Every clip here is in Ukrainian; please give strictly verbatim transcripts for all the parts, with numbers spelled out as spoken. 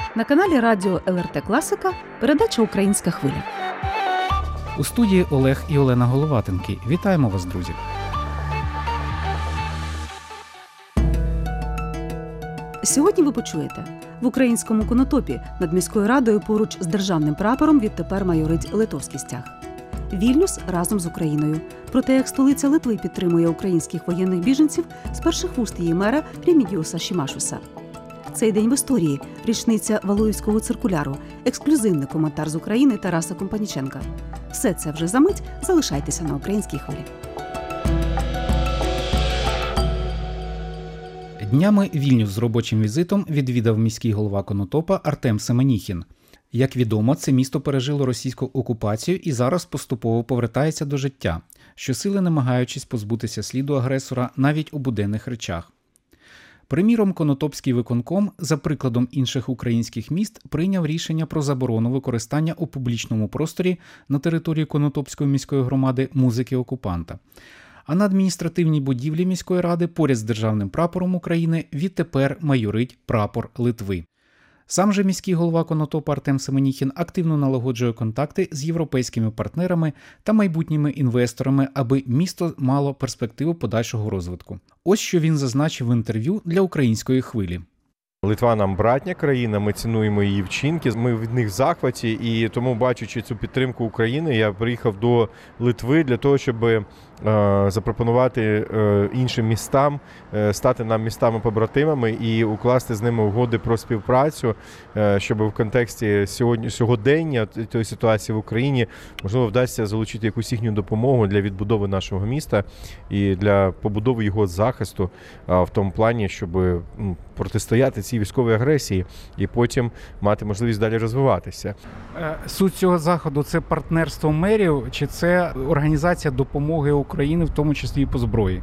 На каналі радіо ел ер те Класика передача «Українська хвиля». У студії Олег і Олена Головатенки. Вітаємо вас, друзі! Сьогодні ви почуєте: в українському Конотопі над міською радою поруч з державним прапором відтепер майорить литовський стяг. Вільнюс разом з Україною. Про те, як столиця Литви підтримує українських воєнних біженців з перших вуст її мера Рімідіуса Шімашуса. Цей день в історії – річниця Валуївського циркуляру, ексклюзивний коментар з України Тараса Компаніченка. Все це вже за мить. Залишайтеся на українській хвилі. Днями Вільнюс з робочим візитом відвідав міський голова Конотопа Артем Семеніхін. Як відомо, це місто пережило російську окупацію і зараз поступово повертається до життя, щосили намагаючись позбутися сліду агресора навіть у буденних речах. Приміром, Конотопський виконком, за прикладом інших українських міст, прийняв рішення про заборону використання у публічному просторі на території Конотопської міської громади музики окупанта. А на адміністративній будівлі міської ради поряд з державним прапором України відтепер майорить прапор Литви. Сам же міський голова Конотопа Артем Семеніхін активно налагоджує контакти з європейськими партнерами та майбутніми інвесторами, аби місто мало перспективу подальшого розвитку. Ось що він зазначив в інтерв'ю для «Української хвилі». Литва нам братня країна, ми цінуємо її вчинки, ми від них в захваті, і тому, бачачи цю підтримку України, я приїхав до Литви для того, щоб е, запропонувати е, іншим містам е, стати нам містами-побратимами і укласти з ними угоди про співпрацю, е, щоб в контексті сьогодні, сьогодення тієї ситуації в Україні, можливо, вдасться залучити якусь їхню допомогу для відбудови нашого міста і для побудови його захисту е, в тому плані, щоб е, протистояти цій військовій агресії і потім мати можливість далі розвиватися. Суть цього заходу – це партнерство мерів чи це організація допомоги Україні, в тому числі і по зброї?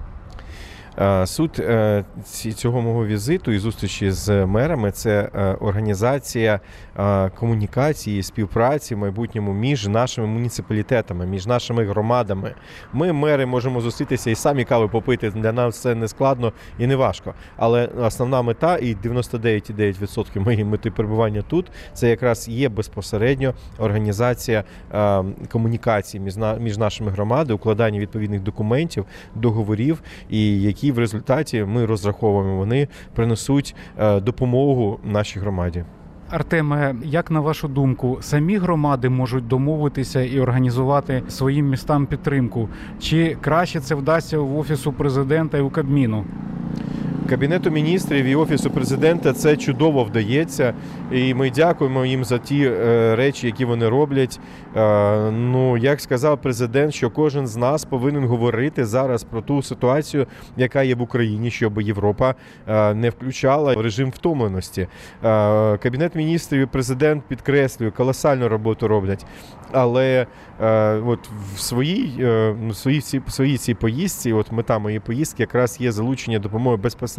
Суть цього мого візиту і зустрічі з мерами – це організація комунікації, співпраці в майбутньому між нашими муніципалітетами, між нашими громадами. Ми, мери, можемо зустрітися і самі кави попити, для нас це не складно і не важко. Але основна мета, і дев'яносто дев'ять цілих дев'ять десятих відсотка моєї мети перебування тут, це якраз є безпосередньо організація комунікації між нашими громадами, укладання відповідних документів, договорів, і які в результаті ми розраховуємо, вони принесуть допомогу нашій громаді. Артеме, як на вашу думку, самі громади можуть домовитися і організувати своїм містам підтримку? Чи краще це вдасться в Офісу Президента і у Кабміну? Кабінету міністрів і Офісу Президента це чудово вдається, і ми дякуємо їм за ті е, речі, які вони роблять. Е, ну, як сказав президент, що кожен з нас повинен говорити зараз про ту ситуацію, яка є в Україні, щоб Європа е, не включала режим втомленості. Е, Кабінет міністрів і президент, підкреслюю, колосальну роботу роблять, але е, от в своїй, е, в своїй, в своїй цій поїздці, от мета моєї поїздки якраз є залучення допомоги безпосередньо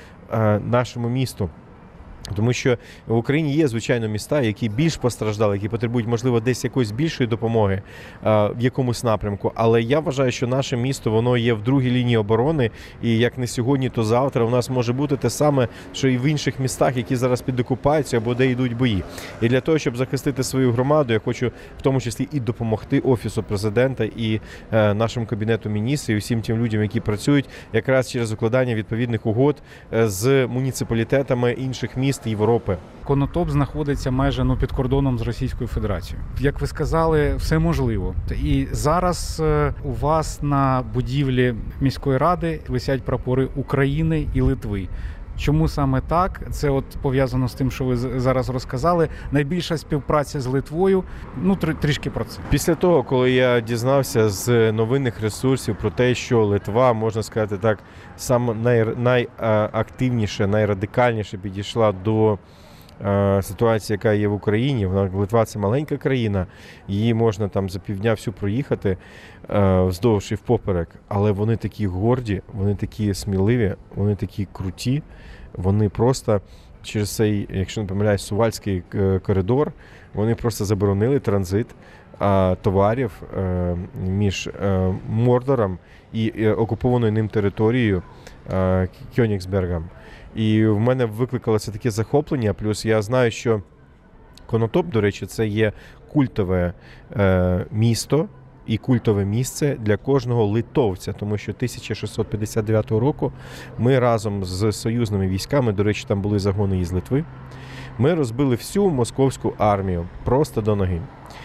нашому місту. Тому що в Україні є, звичайно, міста, які більш постраждали, які потребують, можливо, десь якоїсь більшої допомоги а, в якомусь напрямку. Але я вважаю, що наше місто, воно є в другій лінії оборони, і як не сьогодні, то завтра у нас може бути те саме, що і в інших містах, які зараз під окупацією або де йдуть бої. І для того, щоб захистити свою громаду, я хочу в тому числі і допомогти Офісу Президента і е, нашому Кабінету міністрів, і всім тим людям, які працюють якраз через укладання відповідних угод з муніципалітетами інших міст Європи. Конотоп знаходиться майже ну, під кордоном з Російською Федерацією. Як ви сказали, все можливо. І зараз у вас на будівлі міської ради висять прапори України і Литви. Чому саме так? Це от пов'язано з тим, що ви зараз розказали. Найбільша співпраця з Литвою. Ну, трішки про це. Після того, коли я дізнався з новинних ресурсів про те, що Литва, можна сказати так, саме най, найактивніше, найрадикальніше підійшла до е, ситуації, яка є в Україні. Литва – це маленька країна, її можна там за півдня всю проїхати е, вздовж і впоперек, але вони такі горді, вони такі сміливі, вони такі круті, вони просто через цей, якщо не помиляюсь, Сувальський коридор, вони просто заборонили транзит а, товарів а, між а, Мордором і окупованою ним територією а, Кьонігсбергом. І в мене викликало це таке захоплення, плюс я знаю, що Конотоп, до речі, це є культове е, місто і культове місце для кожного литовця, тому що тисяча шістсот п'ятдесят дев'ятого року ми разом з союзними військами, до речі, там були загони із Литви, ми розбили всю московську армію просто до ноги.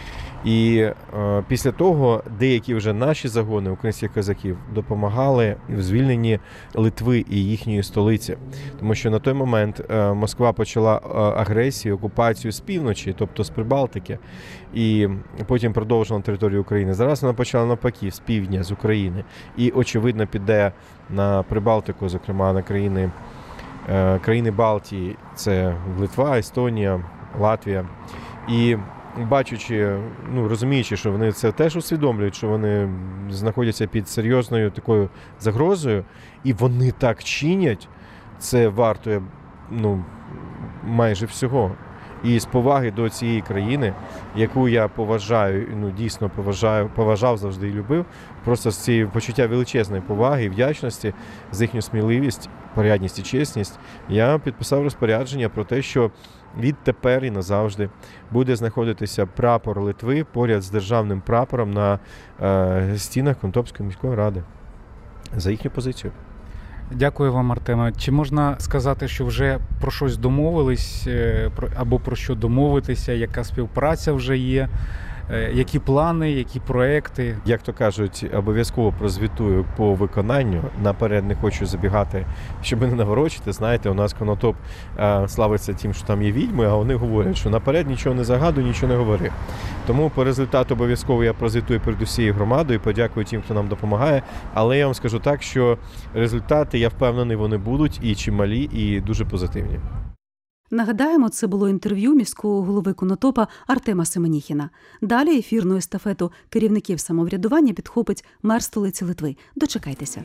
І е, після того деякі вже наші загони українських козаків допомагали в звільненні Литви і їхньої столиці. Тому що на той момент е, Москва почала е, агресію, окупацію з півночі, тобто з Прибалтики, і потім продовжила на територію України. Зараз вона почала навпаки, з півдня, з України. І, очевидно, піде на Прибалтику, зокрема на країни, е, країни Балтії. Це Литва, Естонія, Латвія. І бачучи, ну, розуміючи, що вони це теж усвідомлюють, що вони знаходяться під серйозною такою загрозою, і вони так чинять, це вартує, ну, майже всього. І з поваги до цієї країни, яку я поважаю, ну, дійсно поважаю, поважав завжди і любив, просто з цієї почуття величезної поваги і вдячності за їхню сміливість, порядність і чесність, я підписав розпорядження про те, що відтепер і назавжди буде знаходитися прапор Литви поряд з державним прапором на е, стінах Конотопської міської ради за їхню позицію. Дякую вам, Артеме. Чи можна сказати, що вже про щось домовились, або про що домовитися, яка співпраця вже є, які плани, які проекти? Як то кажуть, обов'язково прозвітую по виконанню. Наперед не хочу забігати, щоб не наворочити. Знаєте, у нас Конотоп а, славиться тим, що там є відьми, а вони говорять, що наперед нічого не загадуй, нічого не говори. Тому по результату обов'язково я прозвітую перед усією громадою, подякую тим, хто нам допомагає. Але я вам скажу так, що результати, я впевнений, вони будуть і чималі, і дуже позитивні. Нагадаємо, це було інтерв'ю міського голови Конотопа Артема Семеніхіна. Далі ефірну естафету керівників самоврядування підхопить мер столиці Литви. Дочекайтеся.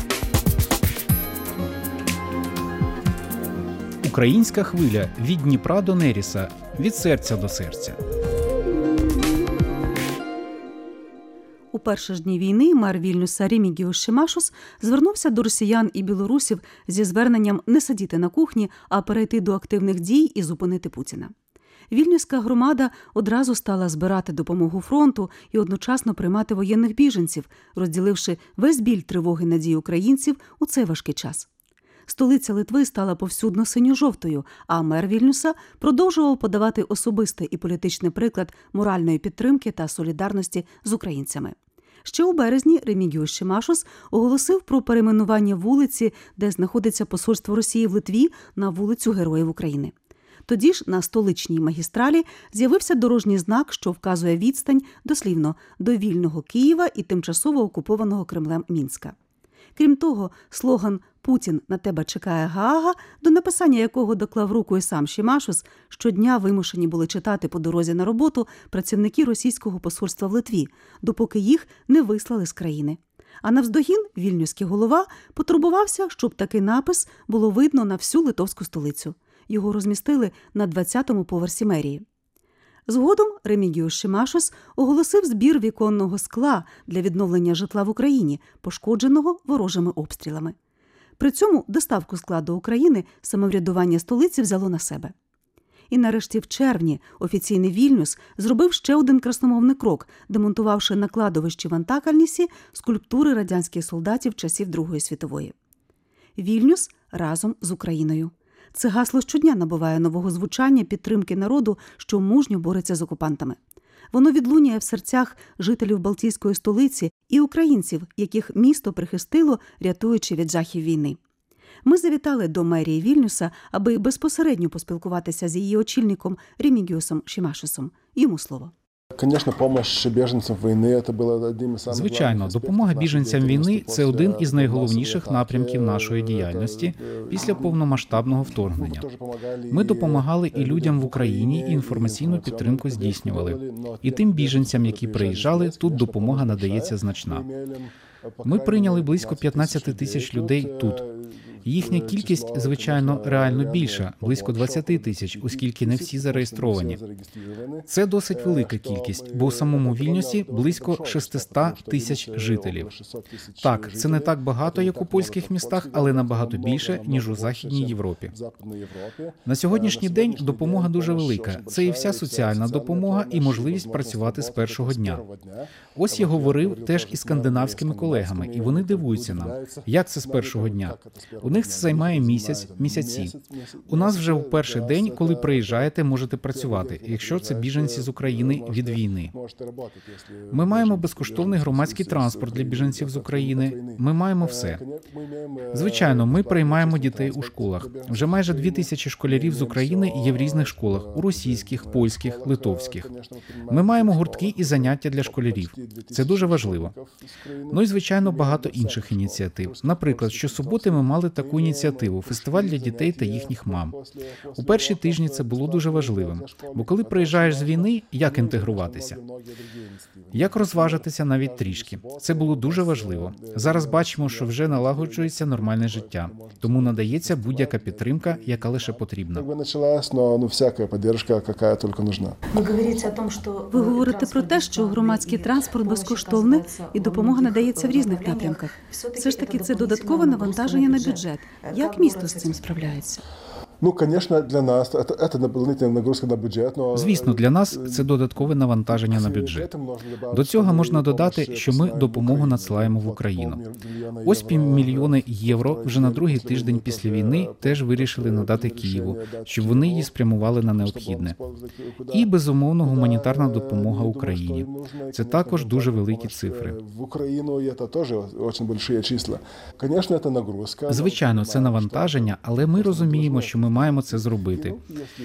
Українська хвиля від Дніпра до Неріса, від серця до серця. У перші ж дні війни мер Вільнюса Ремігіус Шимашус звернувся до росіян і білорусів зі зверненням не сидіти на кухні, а перейти до активних дій і зупинити Путіна. Вільнюська громада одразу стала збирати допомогу фронту і одночасно приймати воєнних біженців, розділивши весь біль тривоги надій українців у цей важкий час. Столиця Литви стала повсюдно синьо-жовтою, а мер Вільнюса продовжував подавати особистий і політичний приклад моральної підтримки та солідарності з українцями. Ще у березні Ремігіус Шимашус оголосив про перейменування вулиці, де знаходиться посольство Росії в Литві, на вулицю Героїв України. Тоді ж на столичній магістралі з'явився дорожній знак, що вказує відстань, дослівно, до вільного Києва і тимчасово окупованого Кремлем Мінська. Крім того, слоган «Путін, на тебе чекає Гаага», до написання якого доклав руку і сам Шимашус, щодня вимушені були читати по дорозі на роботу працівники російського посольства в Литві, допоки їх не вислали з країни. А навздогін вільнюський голова потурбувався, щоб такий напис було видно на всю литовську столицю. Його розмістили на двадцятому поверсі мерії. Згодом Ремігіус Шимашус оголосив збір віконного скла для відновлення житла в Україні, пошкодженого ворожими обстрілами. При цьому доставку скла до України самоврядування столиці взяло на себе. І нарешті в червні офіційний Вільнюс зробив ще один красномовний крок, демонтувавши на кладовищі в Антакальнісі скульптури радянських солдатів часів Другої світової. Вільнюс разом з Україною. Це гасло щодня набуває нового звучання підтримки народу, що мужньо бореться з окупантами. Воно відлунює в серцях жителів Балтійської столиці і українців, яких місто прихистило, рятуючи від жахів війни. Ми завітали до мерії Вільнюса, аби безпосередньо поспілкуватися з її очільником Ремігіусом Шимашусом. Йому слово. Звичайно, допомога біженцям війни – це один із найголовніших напрямків нашої діяльності після повномасштабного вторгнення. Ми допомагали і людям в Україні, і інформаційну підтримку здійснювали. І тим біженцям, які приїжджали, тут допомога надається значна. Ми прийняли близько п'ятнадцять тисяч людей тут. Їхня кількість, звичайно, реально більша – близько двадцять тисяч, оскільки не всі зареєстровані. Це досить велика кількість, бо у самому Вільнюсі близько шістсот тисяч жителів. Так, це не так багато, як у польських містах, але набагато більше, ніж у Західній Європі. На сьогоднішній день допомога дуже велика. Це і вся соціальна допомога, і можливість працювати з першого дня. Ось я говорив теж із скандинавськими колегами, і вони дивуються нам, як це з першого дня. У них це займає місяць, місяці. У нас вже в перший день, коли приїжджаєте, можете працювати, якщо це біженці з України від війни. Ми маємо безкоштовний громадський транспорт для біженців з України. Ми маємо все. Звичайно, ми приймаємо дітей у школах. Вже майже дві тисячі школярів з України є в різних школах – у російських, польських, литовських. Ми маємо гуртки і заняття для школярів. Це дуже важливо. Ну і, звичайно, багато інших ініціатив. Наприклад, щосуботи ми мали таку ініціативу – фестиваль для дітей та їхніх мам. У перші тижні це було дуже важливим. Бо коли приїжджаєш з війни, як інтегруватися? Як розважитися навіть трішки? Це було дуже важливо. Зараз бачимо, що вже налагоджується нормальне життя. Тому надається будь-яка підтримка, яка лише потрібна. Ви говорите про те, що громадський транспорт безкоштовний і допомога надається в різних напрямках. Все ж таки це додаткове навантаження на бюджет. Як місто з цим справляється? Ну, звісно, для нас це, це дополнительна нагрузка на бюджет. Но... Звісно, для нас це додаткове навантаження на бюджет. До цього можна додати, що ми допомогу надсилаємо в Україну. Ось півмільйони євро вже на другий тиждень після війни теж вирішили надати Києву, щоб вони її спрямували на необхідне. І, безумовно, гуманітарна допомога Україні. Це також дуже великі цифри. В Україну це теж дуже великі числа. Звісно, це нагрузка. Звичайно, це навантаження, але ми розуміємо, що ми маємо це зробити.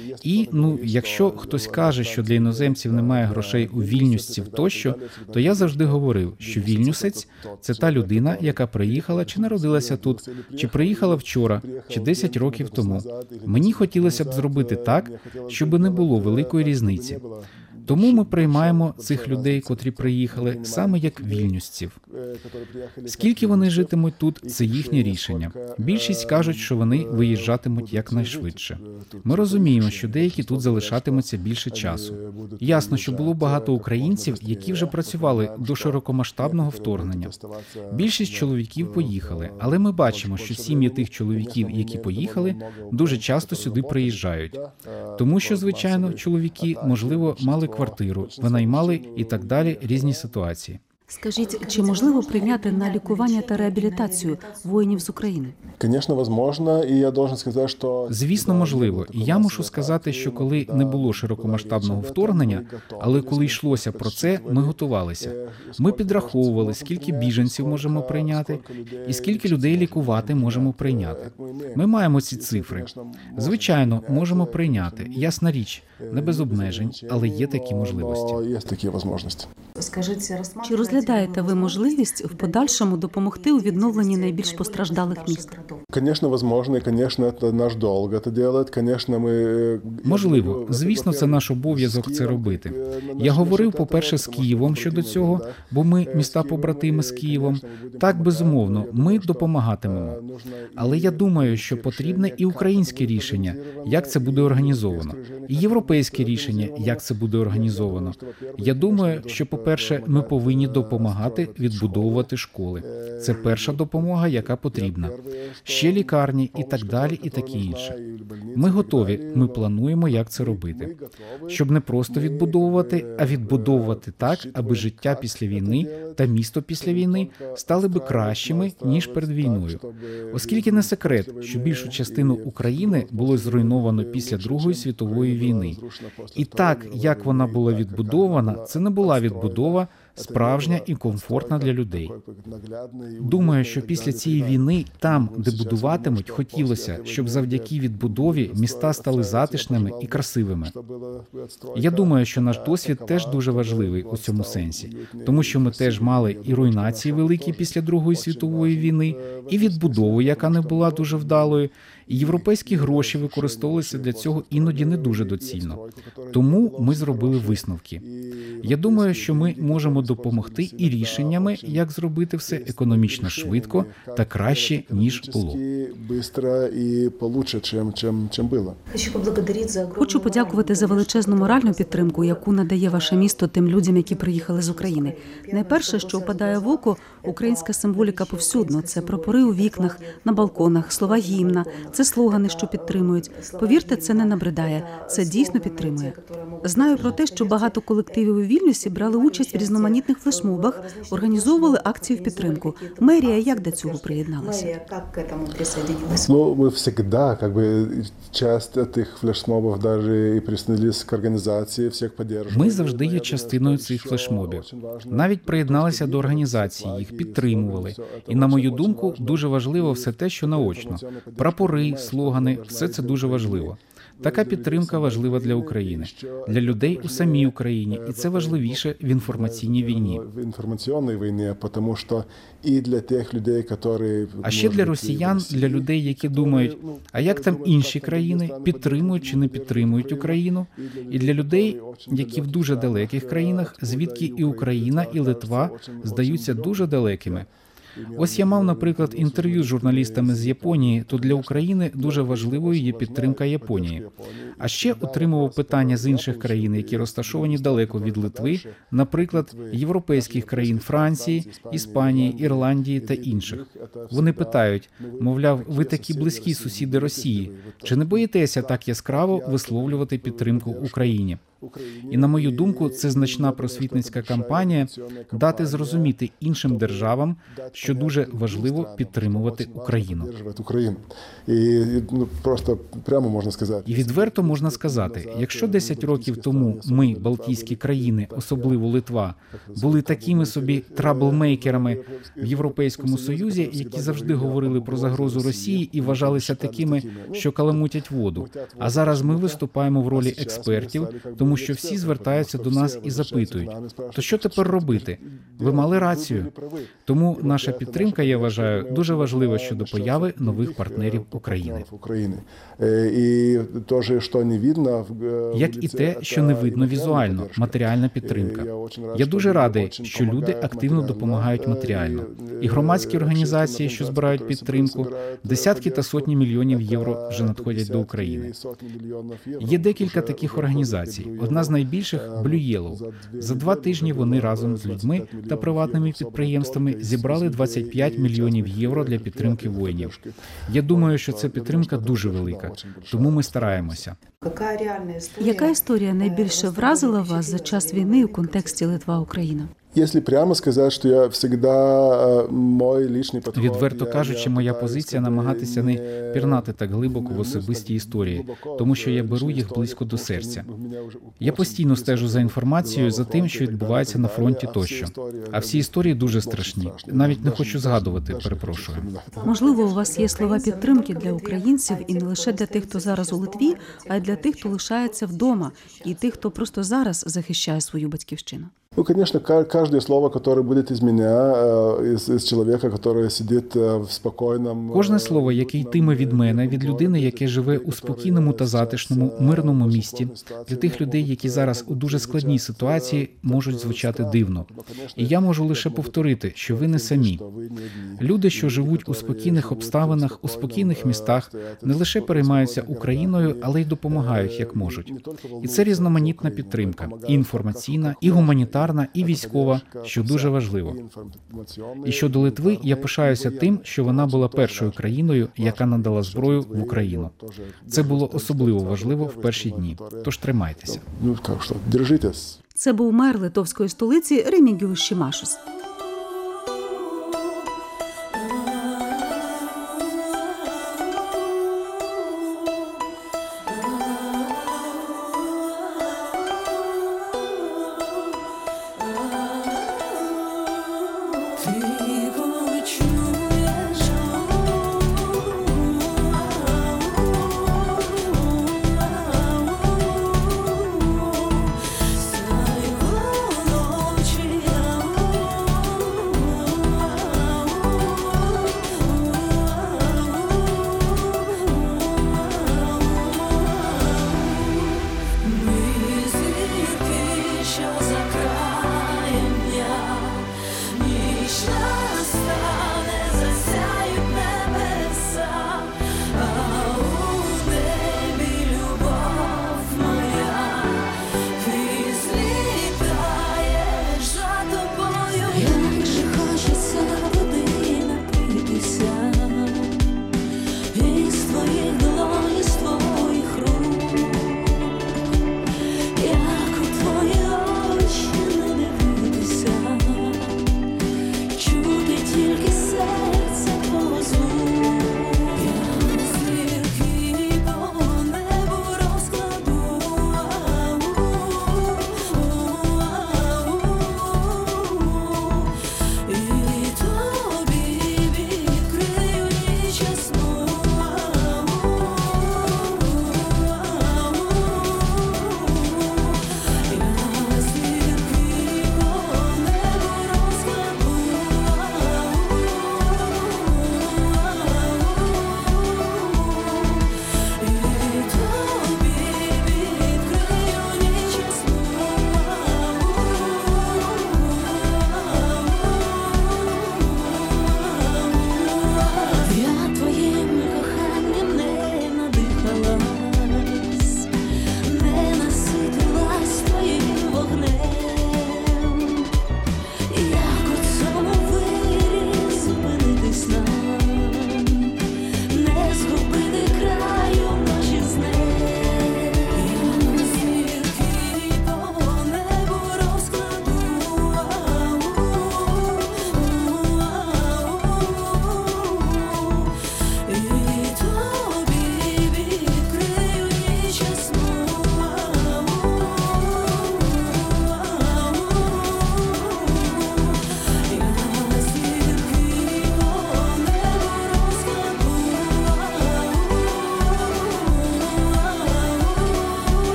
І, ну, якщо хтось каже, що для іноземців немає грошей у вільнюсців тощо, то я завжди говорив, що вільнюсець – це та людина, яка приїхала чи народилася тут, чи приїхала вчора, чи десять років тому. Мені хотілося б зробити так, щоб не було великої різниці. Тому ми приймаємо цих людей, котрі приїхали, саме як вільнюсців. Скільки вони житимуть тут – це їхнє рішення. Більшість кажуть, що вони виїжджатимуть якнайшвидше. Ми розуміємо, що деякі тут залишатимуться більше часу. Ясно, що було багато українців, які вже працювали до широкомасштабного вторгнення. Більшість чоловіків поїхали, але ми бачимо, що сім'ї тих чоловіків, які поїхали, дуже часто сюди приїжджають. Тому що, звичайно, чоловіки, можливо, мали квартиру, винаймали і так далі, різні ситуації. Скажіть, чи можливо прийняти на лікування та реабілітацію воїнів з України? Звісно, можливо, і я должен сказати, що... Звісно, можливо. І я мушу сказати, що коли не було широкомасштабного вторгнення, але коли йшлося про це, ми готувалися. Ми підраховували, скільки біженців можемо прийняти і скільки людей лікувати можемо прийняти. Ми маємо ці цифри. Звичайно, можемо прийняти. Ясна річ, не без обмежень, але є такі можливості. Є такі можливості. Чи розглядаєте ви можливість в подальшому допомогти у відновленні найбільш постраждалих міст? Звісно, можливо, і, звісно, це наш долг це робити. Звісно, ми... Можливо. Звісно, це наш обов'язок це робити. Я говорив, по-перше, з Києвом щодо цього, бо ми міста-побратими з Києвом. Так, безумовно, ми допомагатимемо. Але я думаю, що потрібне і українське рішення, як це буде організовано. І європейське рішення, як це буде організовано. Я думаю, що, по-перше, ми повинні допомагати відбудовувати школи. Це перша допомога, яка потрібна. Ще лікарні і так далі, і таке інше. Ми готові, ми плануємо, як це робити. Щоб не просто відбудовувати, а відбудовувати так, аби життя після війни та місто після війни стали би кращими, ніж перед війною. Оскільки не секрет, що більшу частину України було зруйновано після Другої світової війни. І так, як вона була відбудована, це не була відбудова справжня і комфортна для людей. Думаю, що після цієї війни там, де будуватимуть, хотілося, щоб завдяки відбудові міста стали затишними і красивими. Я думаю, що наш досвід теж дуже важливий у цьому сенсі, тому що ми теж мали і руйнації великі після Другої світової війни, і відбудову, яка не була дуже вдалою, і європейські гроші використовувалися для цього іноді не дуже доцільно. Тому ми зробили висновки. Я думаю, що ми можемо допомогти і рішеннями, як зробити все економічно швидко та краще, ніж було. Хочу подякувати за величезну моральну підтримку, яку надає ваше місто тим людям, які приїхали з України. Найперше, що впадає в око, українська символіка повсюдно. Це прапори у вікнах, на балконах, слова гімна, це слогани, що підтримують. Повірте, це не набридає, це дійсно підтримує. Знаю про те, що багато колективів у Вільнюсі брали участь в різноманітних флешмобах, організовували акції в підтримку. Мерія як до цього приєдналася? Ну, мы всегда, как бы, часть этих флешмобов даже и присоединились к организации, всех поддерживали. Ми завжди є частиною цих флешмобів. Навіть приєдналися до організації, їх підтримували. І, на мою думку, дуже важливо все те, що наочно. Прапори, слогани – все це дуже важливо. Така підтримка важлива для України, для людей у самій Україні, і це важливіше в інформаційній війні. В інформаційній війні, тому що і для тих людей, які... А ще для росіян, для людей, які думають, а як там інші країни, підтримують чи не підтримують Україну, і для людей, які в дуже далеких країнах, звідки і Україна, і Литва здаються дуже далекими. Ось я мав, наприклад, інтерв'ю з журналістами з Японії, то для України дуже важливою є підтримка Японії. А ще отримував питання з інших країн, які розташовані далеко від Литви, наприклад, європейських країн Франції, Іспанії, Ірландії та інших. Вони питають, мовляв, ви такі близькі сусіди Росії, чи не боїтеся так яскраво висловлювати підтримку Україні? І, на мою думку, це значна просвітницька кампанія дати зрозуміти іншим державам, що дуже важливо підтримувати Україну. І просто прямо можна сказати. І відверто можна сказати, якщо десять років тому ми, балтійські країни, особливо Литва, були такими собі траблмейкерами в Європейському Союзі, які завжди говорили про загрозу Росії і вважалися такими, що каламутять воду. А зараз ми виступаємо в ролі експертів, тому що всі звертаються до нас і запитують, то що тепер робити? Ви мали рацію. Тому наша підтримка, я вважаю, дуже важлива щодо появи нових партнерів України. І теж, що не видно, як і те, що не видно візуально, матеріальна підтримка. Я дуже радий, що люди активно допомагають матеріально. І громадські організації, що збирають підтримку, десятки та сотні мільйонів євро вже надходять до України. Є декілька таких організацій. Одна з найбільших – Blue Yellow. За два тижні вони разом з людьми та приватними підприємствами зібрали двадцять п'ять мільйонів євро для підтримки воїнів. Я думаю, що ця підтримка дуже велика, тому ми стараємося. Яка історія найбільше вразила вас за час війни у контексті Литва-Україна? Якщо прямо сказати, що я завжди мой личний підход... Відверто кажучи, моя позиція намагатися не пірнати так глибоко в особисті історії, тому що я беру їх близько до серця. Я постійно стежу за інформацією, за тим, що відбувається на фронті тощо. А всі історії дуже страшні. Навіть не хочу згадувати, перепрошую. Можливо, у вас є слова підтримки для українців і не лише для тих, хто зараз у Литві, а й для тих, хто лишається вдома, і тих, хто просто зараз захищає свою батьківщину. Ну, конечно, каждое слово, которое будет из меня, из, из человека, который сидит в спокойном... Кожне слово, яке йтиме від мене, від людини, яке живе у спокійному та затишному, мирному місті, для тих людей, які зараз у дуже складній ситуації, можуть звучати дивно. І я можу лише повторити, що ви не самі. Люди, що живуть у спокійних обставинах, у спокійних містах, не лише переймаються Україною, але й допомагають, як можуть. І це різноманітна підтримка, і інформаційна, і гуманітарна, і військова, що дуже важливо. І щодо Литви, я пишаюся тим, що вона була першою країною, яка надала зброю в Україну. Це було особливо важливо в перші дні. Тож тримайтеся. Ну, як що, держитесь. Це був мер литовської столиці Ремігіус Шимашус.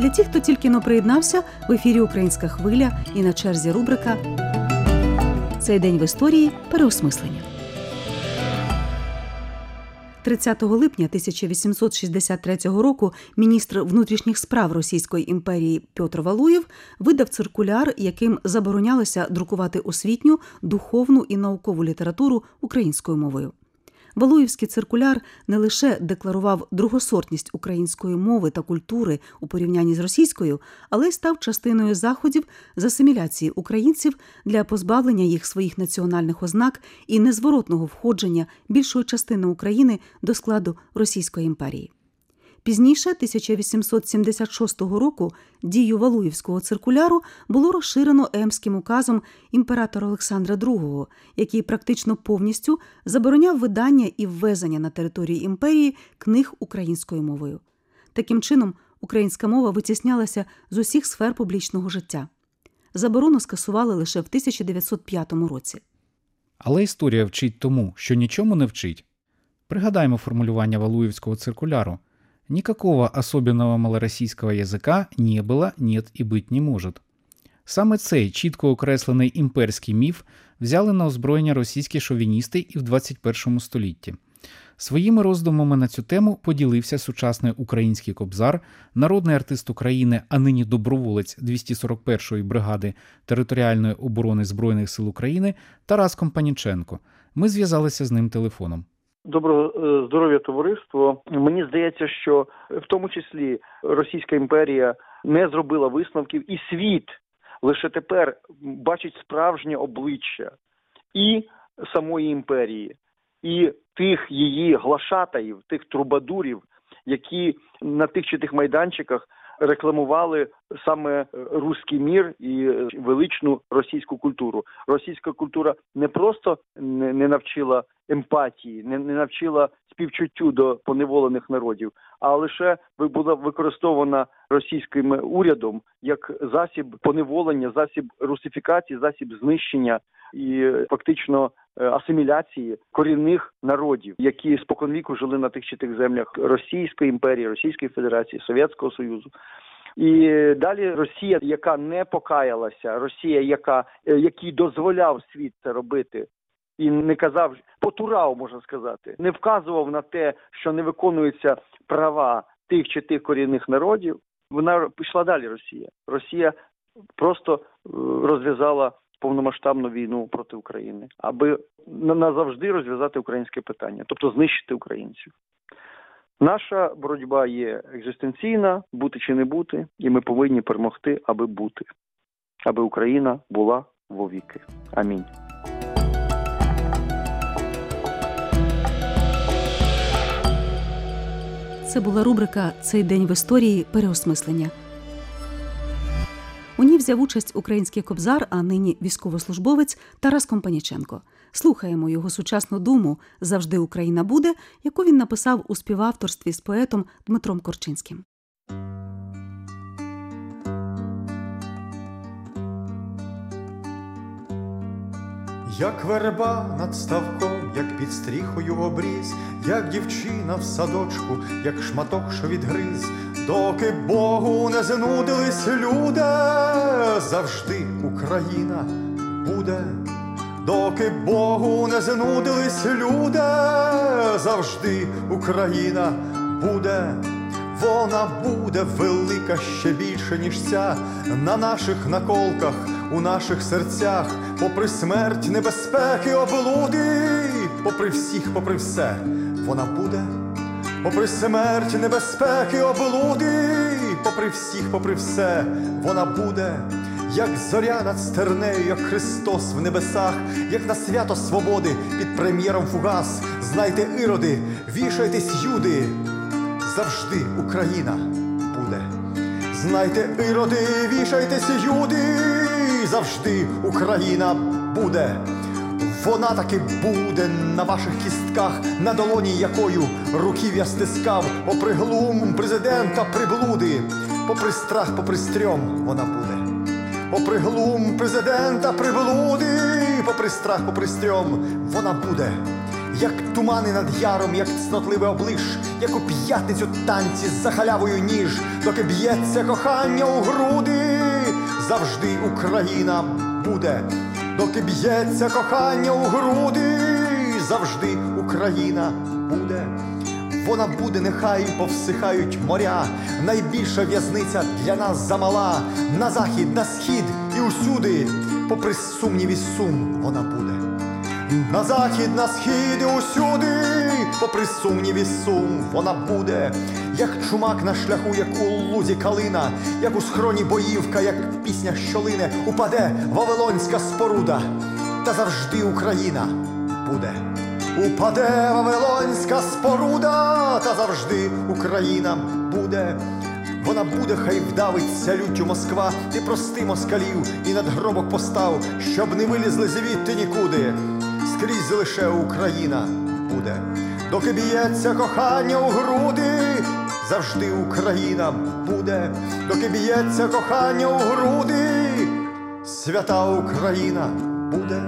Для тих, хто тільки но приєднався, в ефірі «Українська хвиля» і на черзі рубрика «Цей день в історії. Переосмислення». тридцятого липня тисяча вісімсот шістдесят третього року міністр внутрішніх справ Російської імперії Петр Валуєв видав циркуляр, яким заборонялося друкувати освітню, духовну і наукову літературу українською мовою. Валуєвський циркуляр не лише декларував другосортність української мови та культури у порівнянні з російською, але й став частиною заходів з асиміляції українців для позбавлення їх своїх національних ознак і незворотного входження більшої частини України до складу Російської імперії. Пізніше, тисяча вісімсот сімдесят шостого року, дію Валуєвського циркуляру було розширено Емським указом імператора Олександра другого, який практично повністю забороняв видання і ввезення на території імперії книг українською мовою. Таким чином, українська мова витіснялася з усіх сфер публічного життя. Заборону скасували лише в тисяча дев'ятсот п'ятому році. Але історія вчить тому, що нічому не вчить. Пригадаймо формулювання Валуєвського циркуляру. Никакого особенного малороссийского язика не было, нет і бить не может. Саме цей чітко окреслений імперський міф взяли на озброєння російські шовіністи і в двадцять першому столітті. Своїми роздумами на цю тему поділився сучасний український кобзар, народний артист України, а нині доброволець двісті сорок першої бригади територіальної оборони Збройних сил України Тарас Компаніченко. Ми зв'язалися з ним телефоном. Доброго здоров'я, товариство. Мені здається, що в тому числі Російська імперія не зробила висновків, і світ лише тепер бачить справжнє обличчя і самої імперії, і тих її глашатаїв, тих трубадурів, які на тих чи тих майданчиках рекламували саме руський мір і величну російську культуру. Російська культура не просто не навчила емпатії, не, не навчила співчуттю до поневолених народів, а лише була використована російським урядом як засіб поневолення, засіб русифікації, засіб знищення і фактично асиміляції корінних народів, які споконвіку жили на тих чи тих землях Російської імперії, Російської Федерації, Совєтського Союзу. І далі Росія, яка не покаялася, Росія, яка, який дозволяв світ це робити, і не казав, потурав, можна сказати, не вказував на те, що не виконуються права тих чи тих корінних народів, вона пішла далі, Росія. Росія просто розв'язала повномасштабну війну проти України, аби назавжди розв'язати українське питання, тобто знищити українців. Наша боротьба є екзистенційна, бути чи не бути, і ми повинні перемогти, аби бути, аби Україна була вовіки. Амінь. Це була рубрика «Цей день в історії. Переосмислення». У ній взяв участь український кобзар, а нині військовослужбовець Тарас Компаніченко. Слухаємо його сучасну думу «Завжди Україна буде», яку він написав у співавторстві з поетом Дмитром Корчинським. Як верба над ставком, як під стріхою обріз, як дівчина в садочку, як шматок, що відгриз, доки Богу не занудились люди, завжди Україна буде. Доки Богу не занудились люди, завжди Україна буде. Вона буде велика ще більше, ніж ця, на наших наколках, у наших серцях, попри смерть, небезпеки, облуди, попри всіх, попри все, вона буде. Попри смерть, небезпеки, облуди, попри всіх, попри все, вона буде. Як зоря над стернею, як Христос в небесах, як на свято свободи під прем'єром фугас. Знайте, іроди, вішайтесь, юди, завжди Україна буде. Знайте, іроди, вішайтесь, юди, завжди Україна буде. Вона таки буде на ваших кістках, на долоні якою руків'я стискав. Попри глум президента приблуди, попри страх, попри стрьом вона буде. Попри глум президента приблуди, попри страх, попри стрьом вона буде. як тумани над яром, як цнотливе облиш, як у п'ятницю танці за халявою ніж, доки б'ється кохання у груди, завжди Україна буде, доки б'ється кохання у груди, завжди Україна буде. Вона буде, нехай повсихають моря, найбільша в'язниця для нас замала, на захід, на схід і усюди, попри сумнів і сум, вона буде. На захід, на схід і усюди, попри сумнів і сум, вона буде. Як чумак на шляху, як у лузі калина, як у схроні боївка, як пісня, що лине, упаде Вавилонська споруда, та завжди Україна буде. Упаде Вавилонська споруда, та завжди Україна буде. Вона буде, хай вдавиться люттю Москва, ти прости москалів і надгробок постав, щоб не вилізли звідти нікуди. Скрізь лише Україна буде. Доки б'ється кохання у груди, завжди Україна буде. Доки б'ється кохання у груди, свята Україна буде.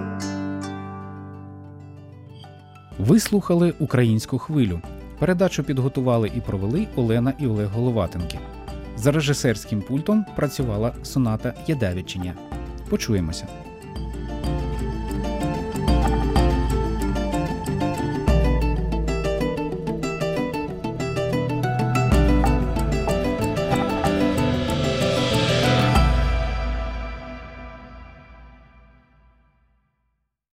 Ви слухали «Українську хвилю». Передачу підготували і провели Олена і Олег Головатенки. За режисерським пультом працювала Соната Єдавічиня. Почуємося.